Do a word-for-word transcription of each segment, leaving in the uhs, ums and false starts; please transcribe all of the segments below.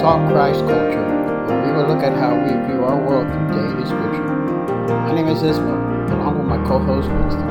Talk Christ Culture, where we will look at how we view our world through daily scripture. My name is Isma, along with my co-host Winston.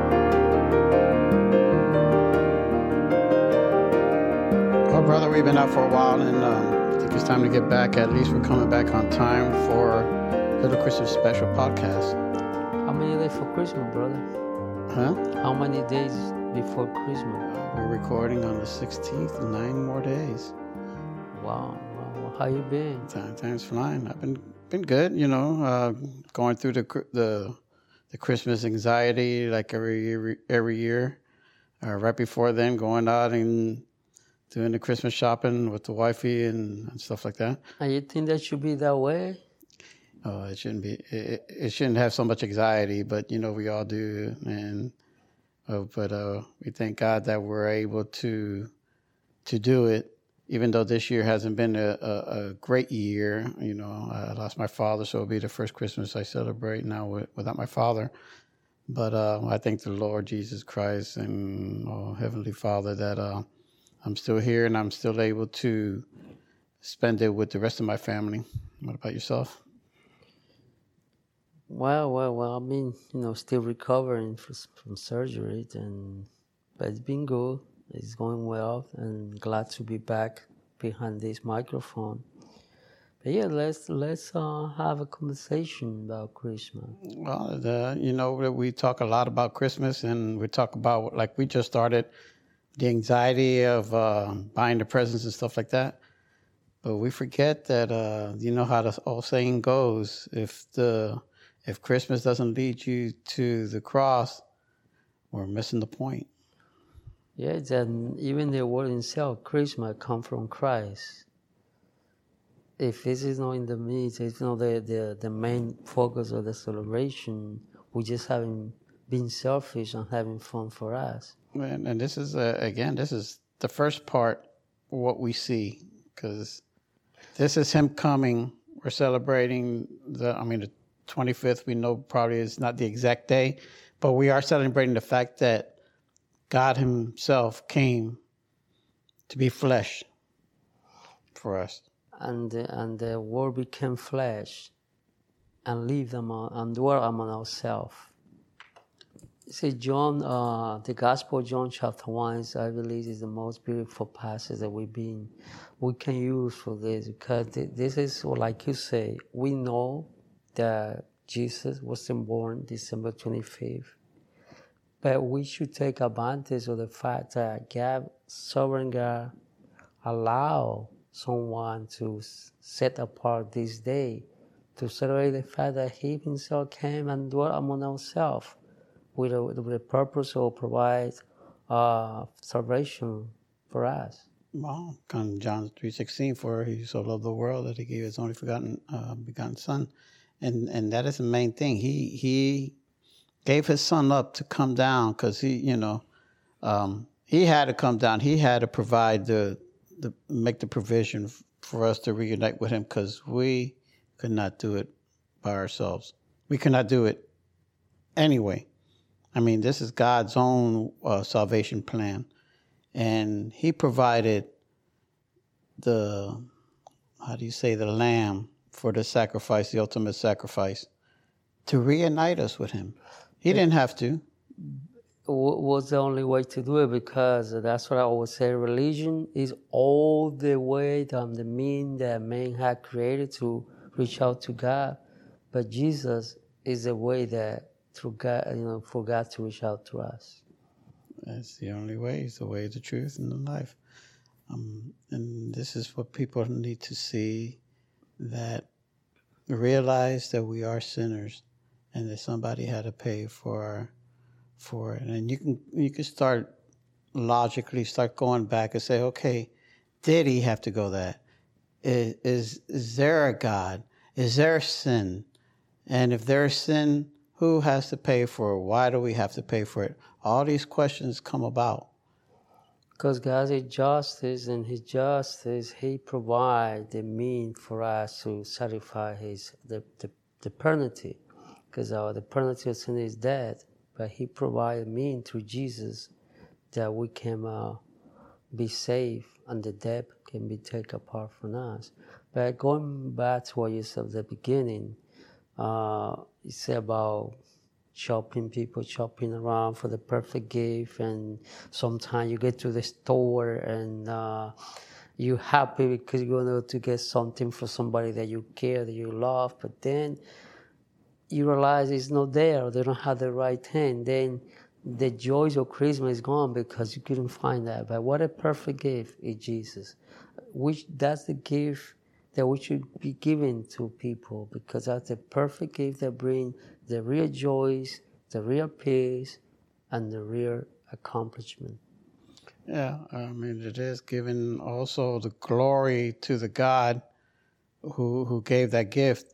Well, brother, we've been out for a while, and um, I think it's time to get back. At least we're coming back on time for Little Christmas Special Podcast. How many days for Christmas, brother? Huh? How many days before Christmas? We're recording on the sixteenth, nine more days. Wow, wow. How you been? Time, time's flying. I've been been good, you know, uh, going through the the the Christmas anxiety like every year, every year. Uh, right before then, going out and doing the Christmas shopping with the wifey and, and stuff like that. And you think that should be that way? Oh, it shouldn't be. It, it shouldn't have so much anxiety, but you know we all do, and uh, but uh, we thank God that we're able to to do it. Even though this year hasn't been a, a, a great year, you know, I lost my father, so it'll be the first Christmas I celebrate now with, without my father. But uh, I thank the Lord Jesus Christ and oh, Heavenly Father that uh, I'm still here and I'm still able to spend it with the rest of my family. What about yourself? Well, well, well. I mean, you know, still recovering from, from surgery, and but it's been good. It's going well, and glad to be back behind this microphone. But yeah, let's let's uh, have a conversation about Christmas. Well, the, you know, we talk a lot about Christmas, and we talk about, like we just started, the anxiety of uh, buying the presents and stuff like that. But we forget that, uh, you know how the old saying goes, if the if Christmas doesn't lead you to the cross, we're missing the point. Yeah, then even the word itself, Christmas, come from Christ. If this is not in the midst, it's not the, the, the main focus of the celebration, we just having been selfish and having fun for us. And, and this is, uh, again, this is the first part, what we see, because this is him coming. We're celebrating the, I mean, the twenty-fifth, we know probably is not the exact day, but we are celebrating the fact that God himself came to be flesh for us. And, and the word became flesh and lived among, and dwelt among ourselves. See, John, uh, the Gospel of John chapter one, is, I believe, is the most beautiful passage that we've been, we can use for this, because this is, like you say, we know that Jesus wasn't born December twenty-fifth. But we should take advantage of the fact that God, sovereign God, allow someone to set apart this day to celebrate the fact that He Himself came and dwelt among ourselves with, with the purpose of provide uh, salvation for us. Well, John three sixteen, for He so loved the world that He gave His only forgotten uh, begotten Son, and and that is the main thing. He He. gave his son up to come down because he, you know, um, he had to come down. He had to provide the, the make the provision f- for us to reunite with him because we could not do it by ourselves. We could not do it anyway. I mean, this is God's own uh, salvation plan. And he provided the, how do you say, the lamb for the sacrifice, the ultimate sacrifice, to reunite us with him. He didn't have to. Was the only way to do it, because that's what I always say. Religion is all the way and the mean that man had created to reach out to God, but Jesus is the way that through God, you know, for God to reach out to us. That's the only way. It's the way, the truth, and the life. Um, and this is what people need to see, that realize that we are sinners. And that somebody had to pay for for it. And you can you can start logically start going back and say, okay, did he have to go that? Is is, is there a God? Is there sin? And if there's sin, who has to pay for it? Why do we have to pay for it? All these questions come about. Because God is justice, and His justice, He provides the means for us to satisfy His the, the, the penalty. Because uh, the penalty of sin is death, but He provided means through Jesus that we can uh, be saved and the debt can be taken apart from us. But going back to what you said at the beginning, uh, you said about shopping, people shopping around for the perfect gift, and sometimes you get to the store and uh, you're happy because you're going to get something for somebody that you care, that you love, but then you realize it's not there, they don't have the right thing, then the joys of Christmas is gone because you couldn't find that. But what a perfect gift is Jesus, which that's the gift that we should be giving to people, because that's the perfect gift that brings the real joys, the real peace, and the real accomplishment. Yeah, I mean, it is giving also the glory to the God who who gave that gift.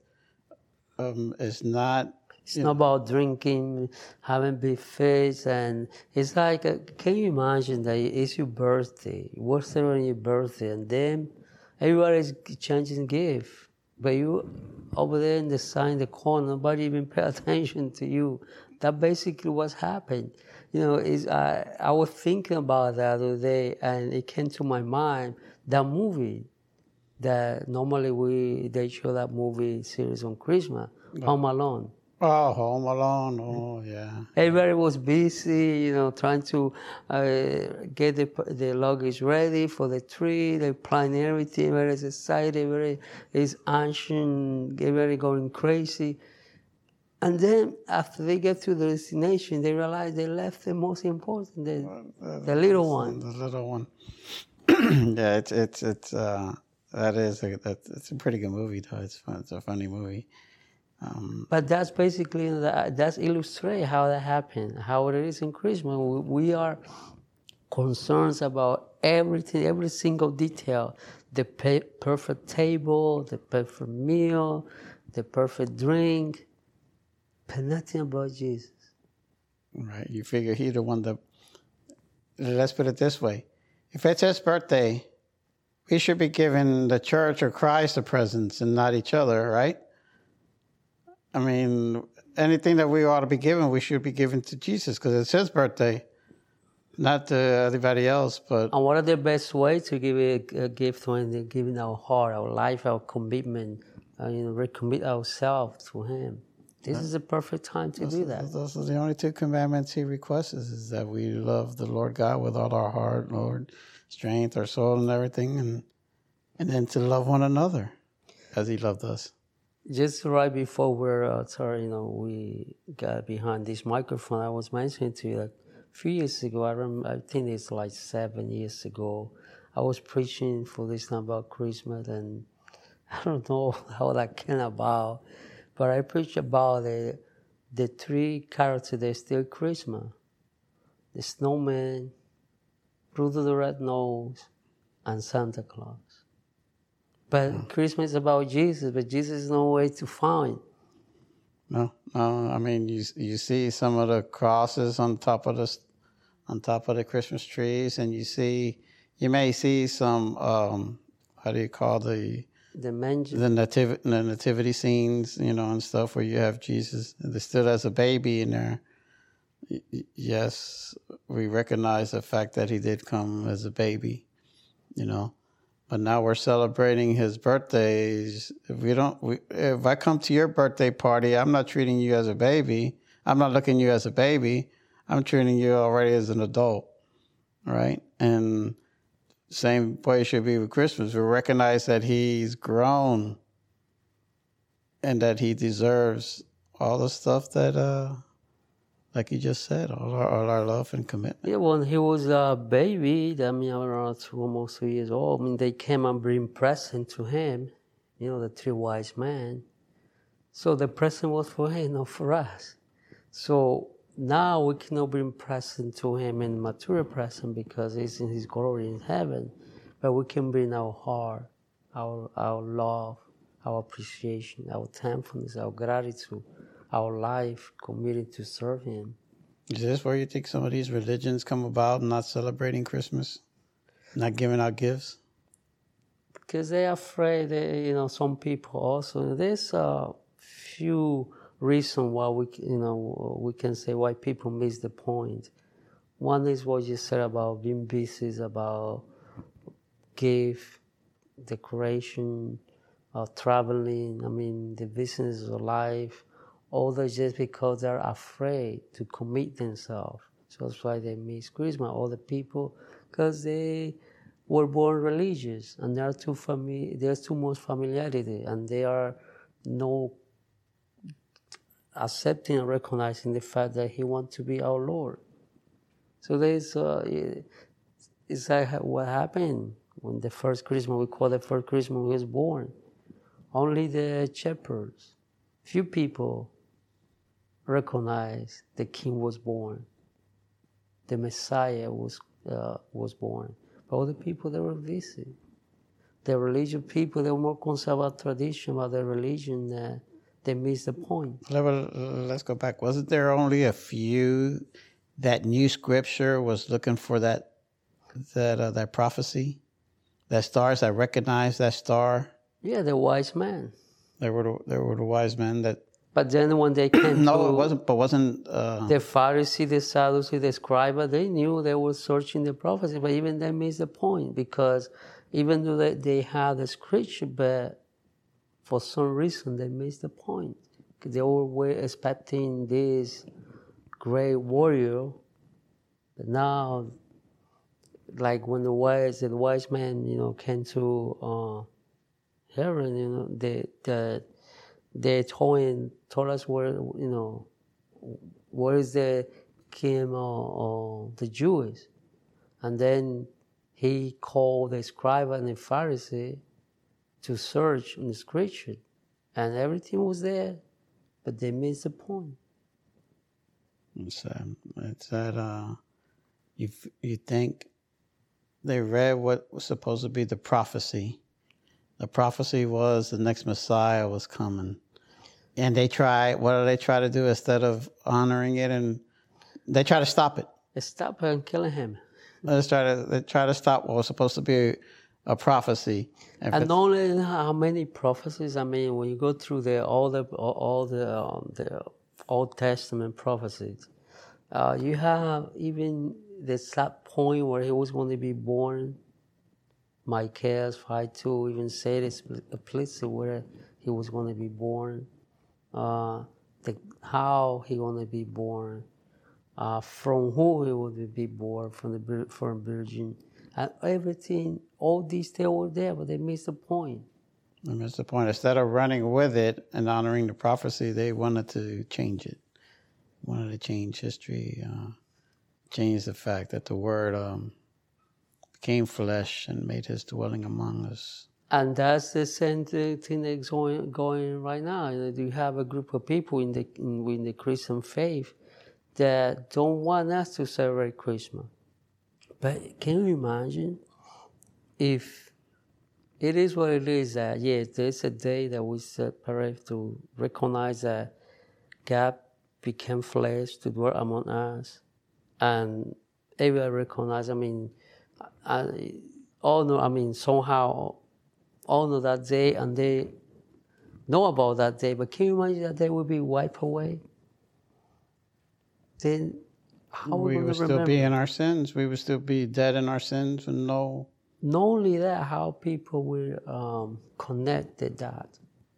Um, it's not... It's not about drinking, having buffets, and it's like, uh, can you imagine that it's your birthday, you're celebrating your birthday, and then everybody's changing gift, but you over there in the side in the corner, nobody even pay attention to you. That basically what's happened. You know, is I I was thinking about that the other day, and it came to my mind that movie that normally we they show that movie series on Christmas, Home Alone. Oh, Home Alone. Oh, yeah. Everybody was busy, you know, trying to uh, get the the luggage ready for the tree. They plan everything. Everybody's excited. Everybody is anxious. Everybody going crazy. And then after they get to the destination, they realize they left the most important, the, uh, the little one. The little one. Yeah, it's it's it's uh, that is a that's it's a pretty good movie though. It's fun. It's a funny movie. Um, but that's basically that's illustrate how that happened, how it is in Christmas. We are concerned about everything, every single detail, the perfect table, the perfect meal, the perfect drink, but nothing about Jesus. Right. You figure he's the one that. Let's put it this way: if it's his birthday, we should be giving the church or Christ the presents and not each other, right? I mean, anything that we ought to be giving, we should be giving to Jesus because it's his birthday, not to everybody else. But and what are the best ways to give a, a gift when they're giving our heart, our life, our commitment, uh, you know, recommit ourselves to Him? This yeah. is the perfect time to those, do that. Those are the only two commandments He requests: is that we love the Lord God with all our heart, Lord, strength, our soul, and everything, and and then to love one another as He loved us. Just right before we're uh, sorry, you know, we got behind this microphone, I was mentioning to you that a few years ago, I remember, I think it's like seven years ago, I was preaching for this time about Christmas, and I don't know how that came about, but I preached about the the three characters that steal Christmas: the snowman, Rudolph the Red-Nosed, and Santa Claus. But mm. Christmas is about Jesus, but Jesus is no way to find. No, no. I mean, you you see some of the crosses on top of the on top of the Christmas trees, and you see you may see some um, how do you call the the manger, the nativity the nativity scenes, you know, and stuff where you have Jesus still as a baby in there. Yes, we recognize the fact that He did come as a baby, you know. But now we're celebrating His birthdays. If we don't, we, if I come to your birthday party, I'm not treating you as a baby. I'm not looking at you as a baby. I'm treating you already as an adult, right? And same way it should be with Christmas. We recognize that He's grown and that He deserves all the stuff that, uh, like you just said, all our, all our love and commitment. Yeah, when He was a baby, I mean, around two, almost two years old, I mean, they came and bring present to Him, you know, the three wise men. So the present was for Him, not for us. So now we cannot bring present to Him in material present because He's in His glory in heaven, but we can bring our heart, our our love, our appreciation, our thankfulness, our gratitude, our life committed to serve Him. Is this where you think some of these religions come about, not celebrating Christmas, not giving out gifts? Because they're afraid that, you know, some people also, there's a few reasons why we, you know, we can say why people miss the point. One is what you said about being busy, about gift, decoration, uh, traveling, I mean, the business of life, all that just because they're afraid to commit themselves. So that's why they miss Christmas, all the people, because they were born religious and they are too fami- there's too much familiarity and they are no accepting and recognizing the fact that he wants to be our Lord. So there's, uh, it's like what happened when the first Christmas, we call the first Christmas he was born. Only the shepherds, few people recognize the king was born. The Messiah was uh, was born. But all the people that were busy. The religious people, they were more concerned about tradition, about their religion, uh, they missed the point. Let's go back. Wasn't there only a few that knew Scripture, was looking for that that uh, that prophecy, that stars, that recognized that star? Yeah, the wise men. There were the, there were the wise men that. But then when they came no, to it wasn't. But wasn't uh, the Pharisee, the Sadducee, the scribe? They knew they were searching the prophecy, but even they missed the point because even though they, they had the scripture, but for some reason they missed the point. They were expecting this great warrior, but now, like when the wise the wise man, you know, came to uh, heaven, you know, they the they told him, told us where, you know, where is the king of the Jews, and then he called the scribe and the Pharisee to search in the scripture, and everything was there, but they missed the point. It's, um, it's that uh, you you think they read what was supposed to be the prophecy. The prophecy was the next Messiah was coming. And they try, what do they try to do instead of honoring it? And they try to stop it. They stop and killing him. They try to, they try to stop what was supposed to be a prophecy. And, and not only how many prophecies, I mean, when you go through the, all the all, all the, um, the Old Testament prophecies, uh, you have even the sad point where he was going to be born. Micah five two even said it explicitly where he was going to be born. Uh, the, how he going to be born, uh, from who he would be born, from the from virgin, and everything. All these they were there, but they missed the point. They missed the point. Instead of running with it and honoring the prophecy, they wanted to change it. Wanted to change history, uh, change the fact that the Word um, became flesh and made His dwelling among us. And that's the same thing that's going, going right now. You have a group of people in the in, in the Christian faith that don't want us to celebrate Christmas. But can you imagine if it is what it is that, yes, there's a day that we separate to recognize that God became flesh to dwell among us. And everyone recognize, I mean, I, all know, I mean, somehow, all know that day and they know about that day, but can you imagine that day will be wiped away? Then how are we, we going would to still remember? be in our sins. We would still be dead in our sins and no. Not only that, how people will um, connect the that.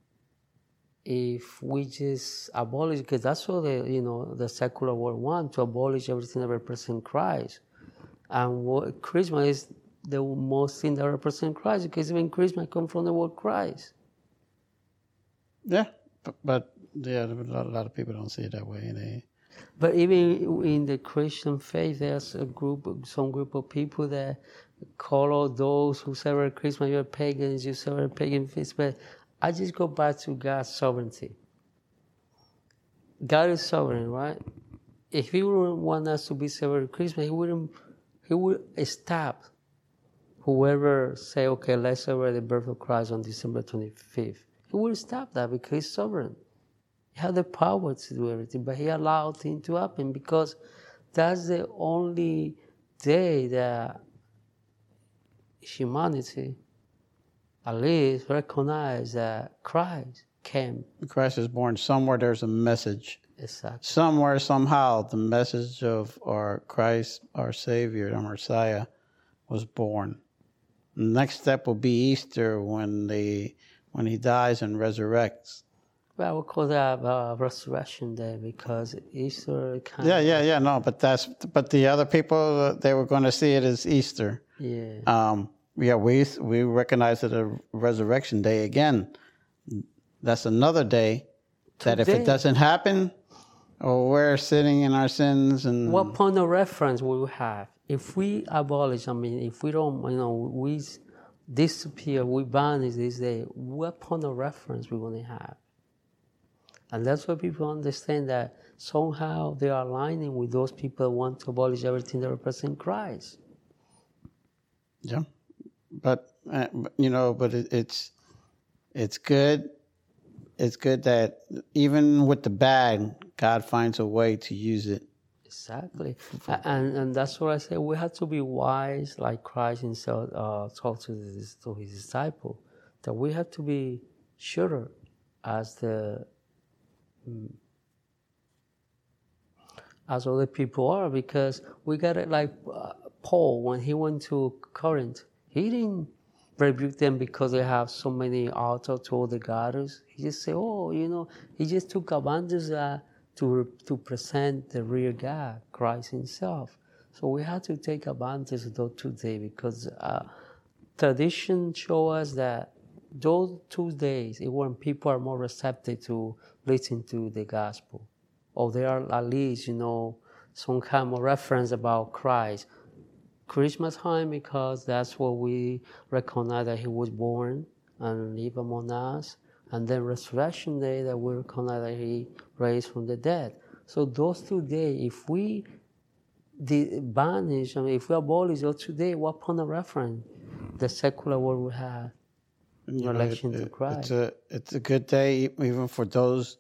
If we just abolish, because that's what the you know the secular world want, to abolish everything that represents Christ, and what Christmas is the most thing that represents Christ, because even Christmas comes from the word Christ. Yeah, but, but yeah, a lot, a lot of people don't see it that way. They. But even in the Christian faith, there's a group, some group of people that call all those who celebrate Christmas, you're pagans, you celebrate pagan feasts. But I just go back to God's sovereignty. God is sovereign, right? If He wouldn't want us to be celebrating Christmas, He wouldn't. He would stop whoever say, okay, let's celebrate the birth of Christ on December twenty-fifth. He wouldn't stop that because He's sovereign. He had the power to do everything, but He allowed things to happen because that's the only day that humanity, at least, recognized that Christ came. Christ is born. Somewhere there's a message. Exactly. Somewhere, somehow, the message of our Christ, our Savior, our Messiah, was born. next step will be Easter when they when he dies and resurrects. Well, we call that uh, Resurrection Day because Easter kind Yeah, of... yeah, yeah. No, but that's but the other people uh, they were going to see it as Easter. Yeah. Um, yeah, we we recognize it as Resurrection Day again. That's another day that Today, if it doesn't happen, or we're sitting in our sins and what point of reference will we have? If we abolish, I mean, if we don't, you know, we disappear, we banish this day, what point of reference we're going to have? And that's why people understand that somehow they are aligning with those people who want to abolish everything that represents Christ. Yeah, but uh, you know, but it, it's it's good. It's good that even with the bad, God finds a way to use it. Exactly, and and that's what I say. We have to be wise, like Christ Himself uh, told to his, to His disciple, that we have to be sure as the as other people are, because we got it like uh, Paul when he went to Corinth. He didn't rebuke them because they have so many altars to all the gods. He just said, "Oh, you know," he just took advantage uh, to to present the real God, Christ Himself. So we have to take advantage of those today because uh, tradition shows us that those two days is when people are more receptive to listen to the gospel, or they are at least, you know, some kind of reference about Christ. Christmas time, because that's what we recognize that He was born and lived among us, and then Resurrection Day that we recognize that He raised from the dead. So those two days, if we banish, I mean, if we abolish those two days, what point of reference the secular world will have in You know, relation it- to it- Christ? It's a it's a good day even for those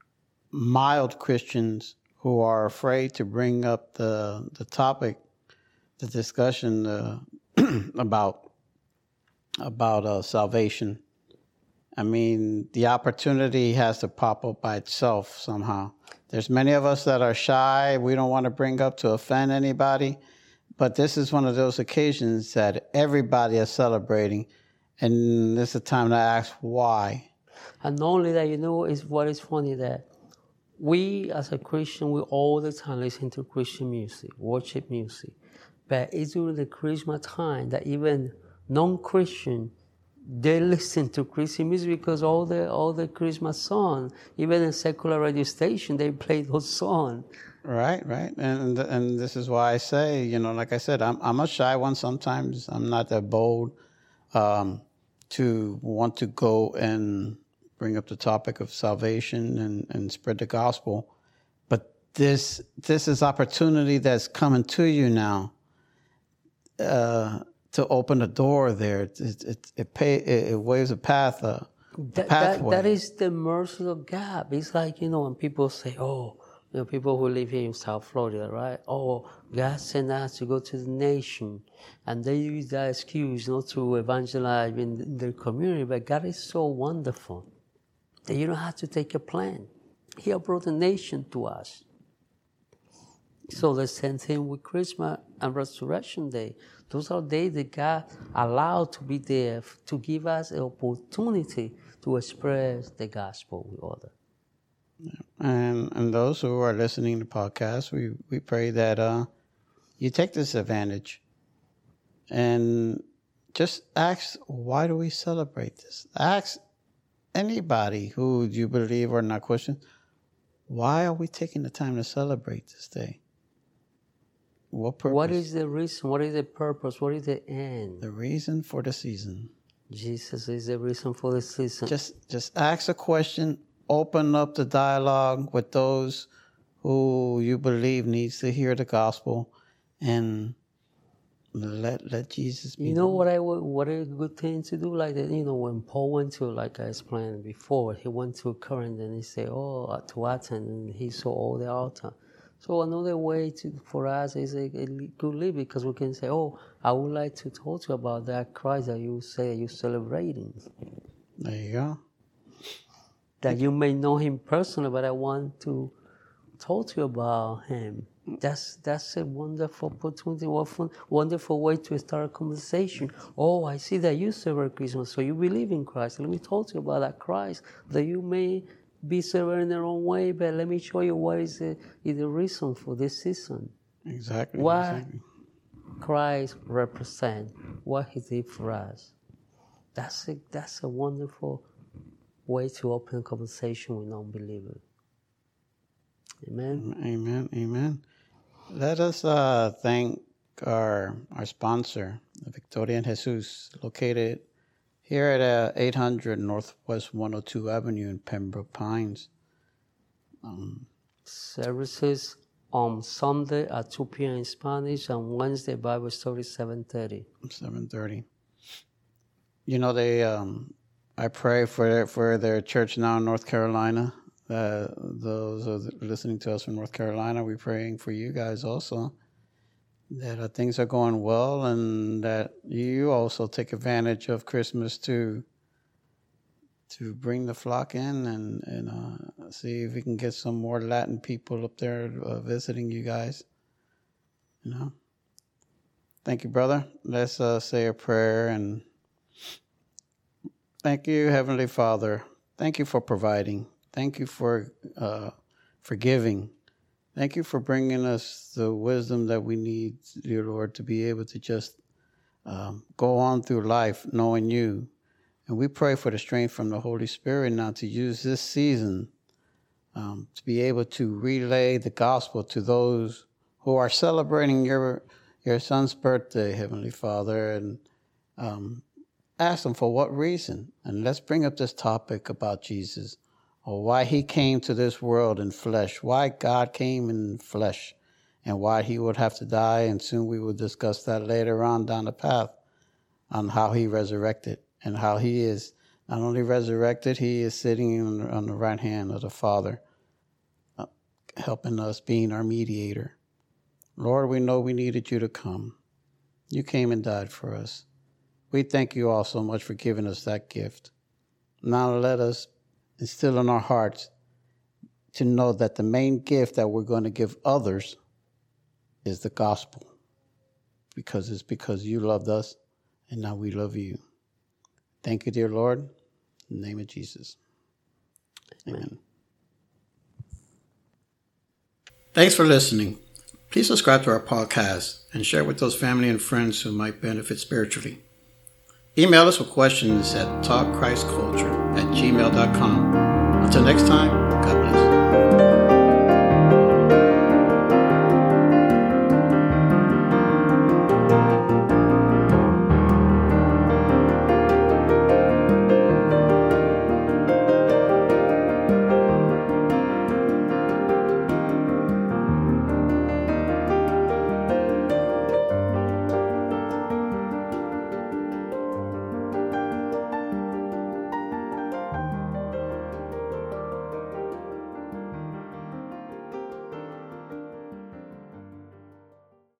mild Christians who are afraid to bring up the the topic, the discussion uh, about about uh, salvation. I mean, the opportunity has to pop up by itself somehow. There's many of us that are shy. We don't want to bring up to offend anybody. But this is one of those occasions that everybody is celebrating. And this is a time to ask why. And not only that, you know, is what is funny that we as a Christian, we all the time listen to Christian music, worship music. But it's during the Christmas time that even non-Christian, they listen to Christian music because all the all the Christmas songs, even in secular radio station, they play those songs. Right, right. And and this is why I say, you know, like I said, I'm I'm a shy one sometimes. I'm not that bold um, to want to go and bring up the topic of salvation and, and spread the gospel. But this this is opportunity that's coming to you now uh, to open a door there. It it it, pay, it, it waves a path, uh, a That, pathway. that, that is the mercy of God. It's like, you know, when people say, oh, you know, people who live here in South Florida, right? Oh, God sent us to go to the nation. And they use that excuse not to evangelize in their community. But God is so wonderful that you don't have to take a plan. He brought a nation to us. So the same thing with Christmas and Resurrection Day. Those are days that God allowed to be there to give us an opportunity to express the gospel with others. And and those who are listening to the podcast, we, we pray that uh, you take this advantage and just ask, why do we celebrate this? Ask anybody who you believe are not Christians, why are we taking the time to celebrate this day? What purpose? What is the reason? What is the purpose? What is the end? The reason for the season. Jesus is the reason for the season. Just just ask a question. Open up the dialogue with those who you believe needs to hear the gospel, and let let Jesus be. You know what I what a good thing to do, like that. You know, when Paul went to, like I explained before, he went to Corinth and he said, "Oh, to Athens," and he saw all the altar. So another way to for us is a, a good live, because we can say, "Oh, I would like to talk to you about that Christ that you say you're celebrating." There you go. That you may know Him personally, but I want to talk to you about Him. That's that's a wonderful opportunity, wonderful way to start a conversation. Oh, I see that you celebrate Christmas, so you believe in Christ. Let me talk to you about that Christ, that you may be celebrating the wrong way, but let me show you what is the, is the reason for this season. Exactly. What exactly. Christ represents, what He did for us. That's a, that's a wonderful way to open a conversation with non-believers. Amen. Amen. Amen. Let us uh, thank our our sponsor, Victoria and Jesus, located here at uh, eight hundred Northwest one oh two Avenue in Pembroke Pines. Um, Services on Sunday at two p.m. in Spanish and Wednesday Bible study seven thirty. seven thirty. You know, they. Um, I pray for for their church now in North Carolina. Uh, those are listening to us from North Carolina, we're praying for you guys also, that uh, things are going well and that you also take advantage of Christmas to to bring the flock in and, and uh, see if we can get some more Latin people up there uh, visiting you guys. You know. Thank you, brother. Let's uh, say a prayer. And thank you, Heavenly Father. Thank you for providing. Thank you for uh, forgiving. Thank you for bringing us the wisdom that we need, dear Lord, to be able to just um, go on through life knowing you. And we pray for the strength from the Holy Spirit now to use this season um, to be able to relay the gospel to those who are celebrating your your son's birthday, Heavenly Father, and um, ask them for what reason. And let's bring up this topic about Jesus, or why he came to this world in flesh, why God came in flesh, and why he would have to die. And soon we will discuss that later on down the path on how he resurrected and how he is not only resurrected, he is sitting on, on the right hand of the Father, uh, helping us, being our mediator. Lord, we know we needed you to come. You came and died for us. We thank you all so much for giving us that gift. Now let us instill in our hearts to know that the main gift that we're going to give others is the gospel, because it's because you loved us and now we love you. Thank you, dear Lord. In the name of Jesus. Amen. Amen. Thanks for listening. Please subscribe to our podcast and share with those family and friends who might benefit spiritually. Email us with questions at talk christ culture at gmail dot com. Until next time, God bless.